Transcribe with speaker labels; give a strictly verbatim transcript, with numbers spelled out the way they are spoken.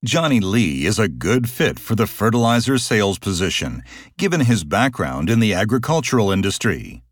Speaker 1: Johnny Lee is a good fit for the fertilizer sales position, given his background in the agricultural industry.